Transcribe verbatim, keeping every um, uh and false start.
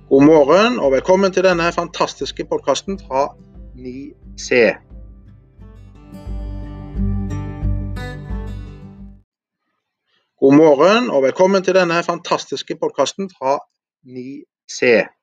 God morgen og velkommen til denne fantastiske podcasten fra ni C. God morgen og velkommen til denne fantastiske podcasten fra ni C.